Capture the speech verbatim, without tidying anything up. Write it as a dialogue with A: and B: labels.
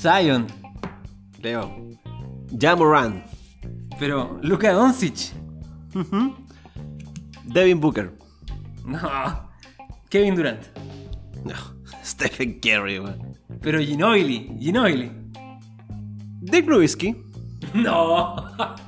A: Zion.
B: Leo. Ja Morant.
A: Pero Luka Doncic.
B: Uh-huh. Devin Booker.
A: No. Kevin Durant.
B: No. Stephen Curry, weón.
A: Pero Ginobili. Ginobili.
B: Dirk Nowitzki.
A: No.